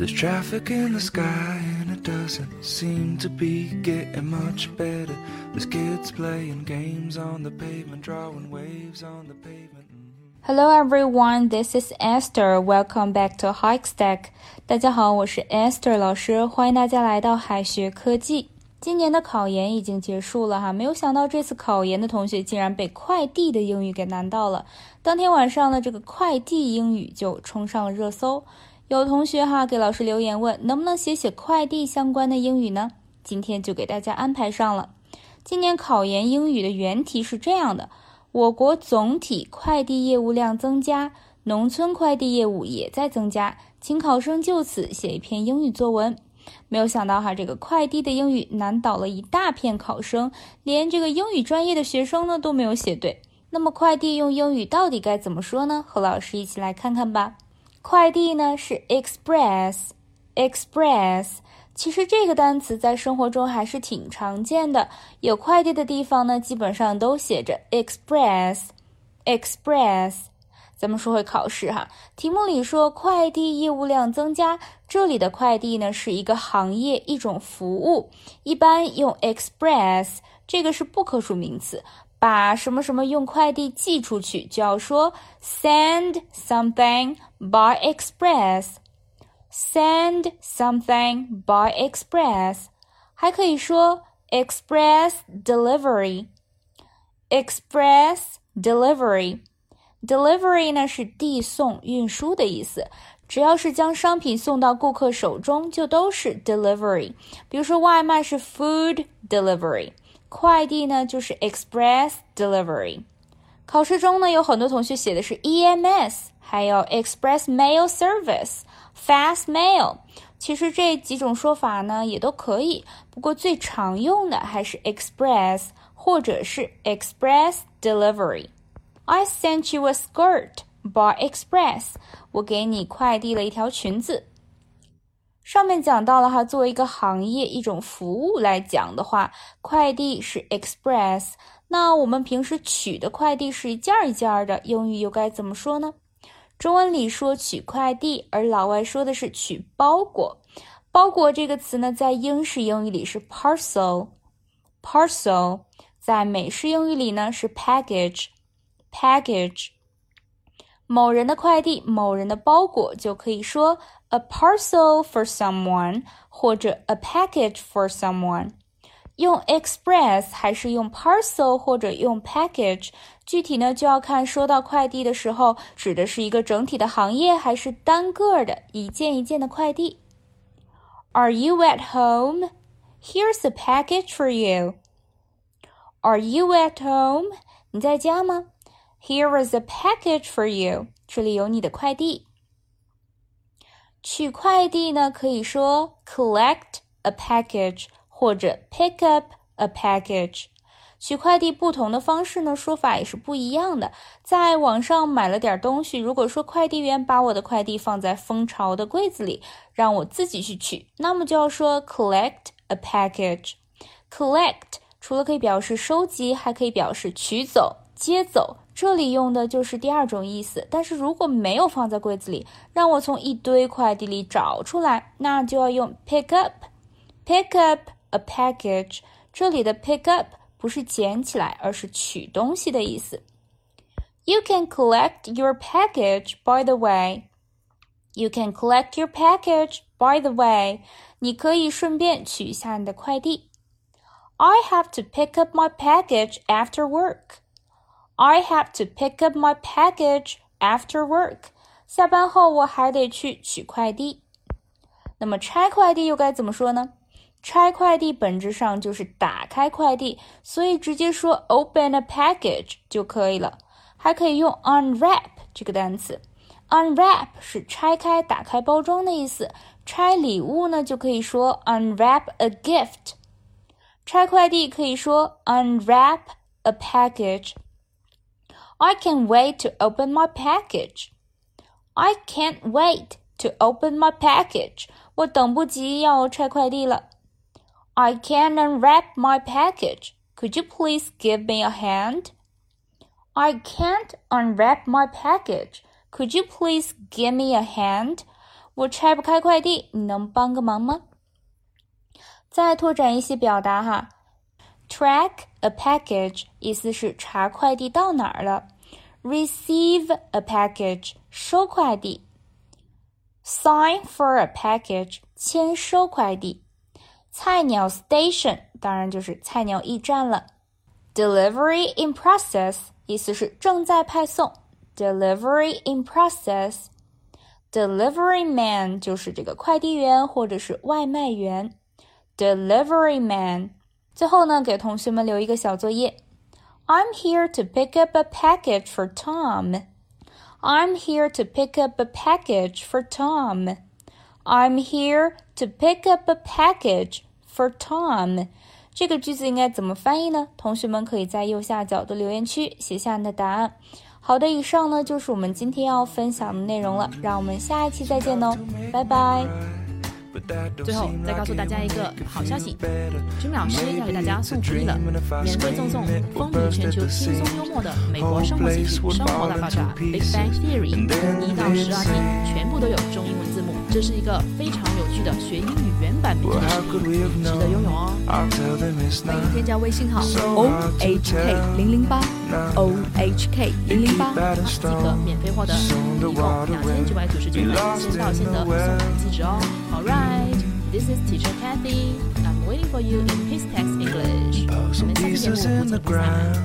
There's traffic in the sky and it doesn't seem to be getting much better. There's kids playing games on the pavement, drawing waves on the pavement.Hello everyone, this is Esther. Welcome back to Hikestack. 大家好，我是 Esther 老师，欢迎大家来到海学科技。今年的考研已经结束了哈，没有想到这次考研的同学竟然被快递的英语给难到了。当天晚上呢，这个快递英语就冲上了热搜。有同学给老师留言问，能不能写快递相关的英语呢？今天就给大家安排上了。今年考研英语的原题是这样的。我国总体快递业务量增加，农村快递业务也在增加，请考生就此写一篇英语作文。没有想到这个快递的英语难倒了一大片考生，连这个英语专业的学生呢都没有写对。那么快递用英语到底该怎么说呢？和老师一起来看看吧。快递呢是 express， 其实这个单词在生活中还是挺常见的，有快递的地方呢基本上都写着 express。 咱们说回考试题目里说快递业务量增加，这里的快递呢是一个行业一种服务，一般用 express， 这个是不可数名词，把什么什么用快递寄出去就要说 send something by express， send something by express， 还可以说 express delivery， delivery 呢是递送运输的意思，只要是将商品送到顾客手中就都是 delivery， 比如说外卖是 food delivery， 快递呢就是 express delivery。 考试中呢有很多同学写的是 EMS， 还有 express mail service， fast mail， 其实这几种说法呢也都可以，不过最常用的还是 express 或者是 express delivery。I sent you a skirt by express. 我给你快递了一条裙子。上面讲到了作为一个行业一种服务来讲的话，快递是 express， 那我们平时取的快递是一件一件的，英语又该怎么说呢？中文里说取快递，而老外说的是取包裹。包裹这个词呢，在英式英语里是 parcel， 在美式英语里呢是 package。某人的快递，某人的包裹就可以说 a parcel for someone 或者 a package for someone。 用 express 还是用 parcel 或者用 package， 具体呢就要看说到快递的时候指的是一个整体的行业还是单个的一件一件的快递。 Are you at home? Here's a package for you. Are you at home? 你在家吗？Here is a package for you. 这里有你的快递。取快递呢，可以说 collect a package 或者 pick up a package。取快递不同的方式呢，说法也是不一样的。在网上买了点东西，如果说快递员把我的快递放在蜂巢的柜子里，让我自己去取，那么就要说 collect a package。collect 除了可以表示收集，还可以表示取走、接走。这里用的就是第二种意思，但是如果没有放在柜子里，让我从一堆快递里找出来，那就要用 pick up a package。 这里的 pick up 不是捡起来，而是取东西的意思。 You can collect your package by the way. You can collect your package by the way. 你可以顺便取一下你的快递。 I have to pick up my package after work.I have to pick up my package after work. 下班后我还得去取快递。那么拆快递又该怎么说呢？拆快递本质上就是打开快递，所以直接说 open a package 就可以了。还可以用 unwrap 这个单词。unwrap 是拆开、打开包装的意思。拆礼物呢，就可以说 unwrap a gift。拆快递可以说 unwrap a package。I can't wait to open my package. I can't wait to open my package. 我等不及要拆快递了。I can't unwrap my package. Could you please give me a hand? I can't unwrap my package. Could you please give me a hand? 我拆不开快递，你能帮个忙吗？再拓展一些表达哈。Track a package 意思是查快递到哪儿了。Receive a package 收快递。Sign for a package 签收快递。菜鸟 station 当然就是菜鸟驿站了。Delivery in process 意思是正在派送。Delivery in process。Delivery man 就是这个快递员或者是外卖员。Delivery man。最后呢，给同学们留一个小作业。I'm here to pick up a package for Tom. I'm here to pick up a package for Tom. I'm here to pick up a package for Tom. 这个句子应该怎么翻译呢？同学们可以在右下角的留言区写下你的答案。好的，以上呢就是我们今天要分享的内容了，让我们下一期再见哦，拜拜。 最后再告诉大家一个好消息，君老师要给大家送福利了，免费赠送风靡全球轻松幽默的美国生活喜剧《生活大爆炸》Big Bang Theory 1到12集，全部都有中英文字幕，这是一个非常有趣的学英语原版美剧之一，值得拥有哦。欢迎添加微信号 OHK008 OHK008 即可免费获得，一共2999元先到先得，送人机制哦。Alright, this is Teacher Kathy. I'm waiting for you in PaceText English. 我们下期节目不见不散。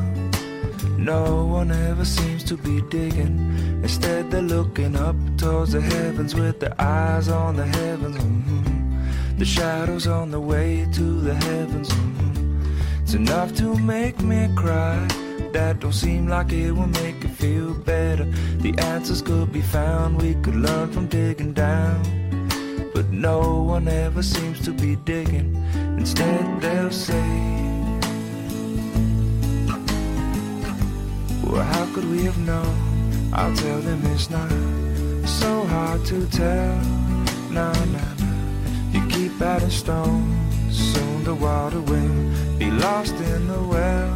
No one ever seems to be digging. Instead they're looking up towards the heavens with their eyes on the heavens. The shadows on the way to the heavens. It's enough to make me cry. That don't seem like it will make you feel better. The answers could be found. We could learn from digging down.But no one ever seems to be digging. Instead they'll say, well, how could we have known? I'll tell them it's not so hard to tell. No, no, no. You keep adding stones, soon the water will be lost in the well.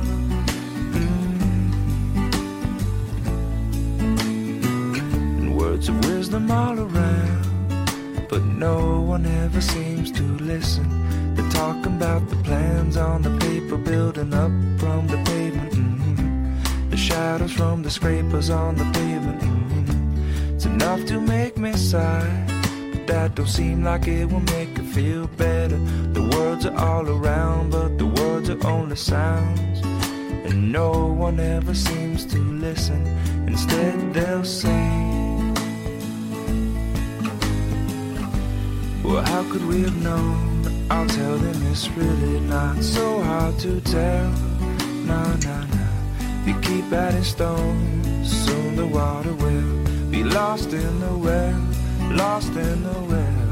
And words of wisdom all around.But no one ever seems to listen. They're talking about the plans on the paper building up from the pavement. The shadows from the scrapers on the pavement. It's enough to make me sigh. But that don't seem like it will make you feel better. The words are all around, but the words are only sounds. And no one ever seems to listen. Instead they'll say,Well, how could we have known? I'll tell them it's really not so hard to tell. No, no, no. You keep adding stones, soon the water will be lost in the well, lost in the well.